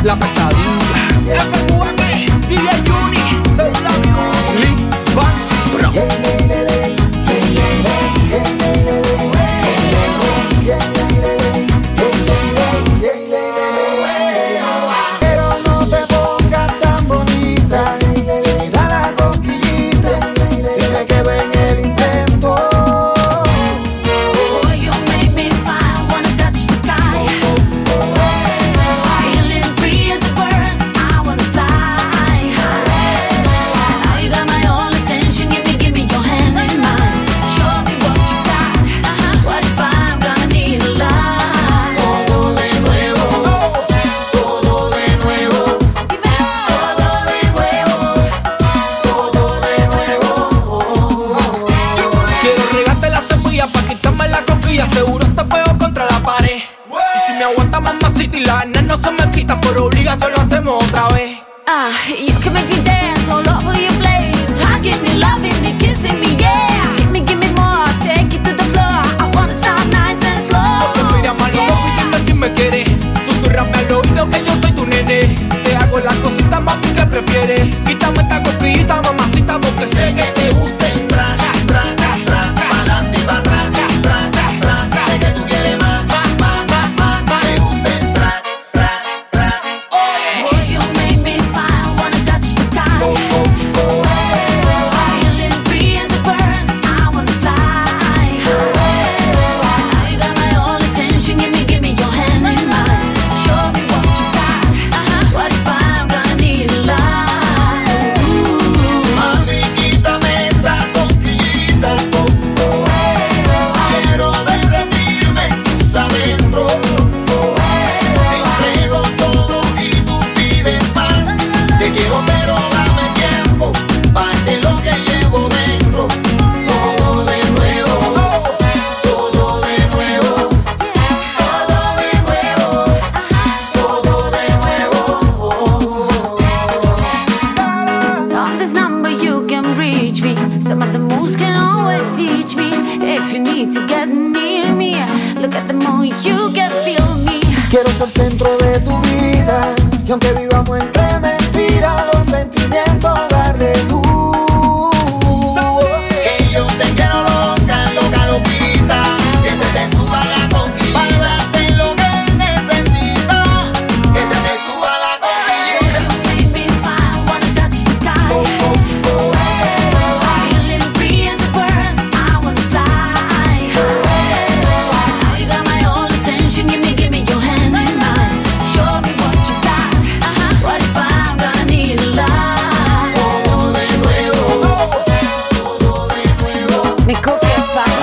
La pesadilla. FUAK, DJ Juni, Cédula Music, Van Bro. Pero no te pongas tan bonita, y da la cosquillita, y me quedo en el intento. Boy, you make me smile, wanna touch the sky. Feeling free as a bird, I wanna fly high. Now you got my all attention, give me your hand in mine. Show me what you got. What if I'm gonna need a lot? Todo de nuevo, todo de nuevo, Dime todo de nuevo. todo de nuevo. Quiero regarte la cepilla pa' quitarme la cosquilla. Seguro te pego contra la pared. Y si me aguanta mamacita y la arena no se me quita, por obligación lo hacemos otra vez. You can make me dance all over your place. Hugging me, loving me, kissing me, yeah. Give me more, take it to the floor. I wanna start nice and slow. Porque mira mal los ojos y dime si me quieres. Susurrame al oído que yo soy tu nene. Te hago las cositas, mami, que prefieres. Quítame esta cosquillita, mamacita, porque sé que te gusta el tra, tra, tra, pa'lante y pa' atrás, tra, tra. Sé que tú quieres más, te gusta el tra, tra, tra. Boy, you make me smile, wanna touch the sky. Feeling free as a bird, I wanna fly high. Now you got my all attention, give me your hand in mine. Show me what you got. What if I'm gonna need a lot? Mami, quítame esta cosquillita. Quiero derretirme en tus adentros. Te entrego todo y tú pides más. Te quiero pero dame tiempo, parte lo que llevo dentro. Todo de nuevo, todo de nuevo, Todo de nuevo. todo de nuevo. On this number you can reach me. Some of the moves can always teach me. If you need to get near me, look at the moon, you can feel me. Quiero ser centro de tu vida, y aunque vivamos entre mentiras, los sentimientos darle luz. Que yo te quiero loca, loca, loquita, que se te suba la conquista, para darte lo que necesitas, que se te suba la conquista. Make me smile, wanna touch the sky. Feeling free as a bird, I wanna fly high. Now you got my all attention, give me your hand in mine. Show me what you got. What if I'm gonna need a lot? Todo de nuevo, todo de nuevo. Me copias, pa.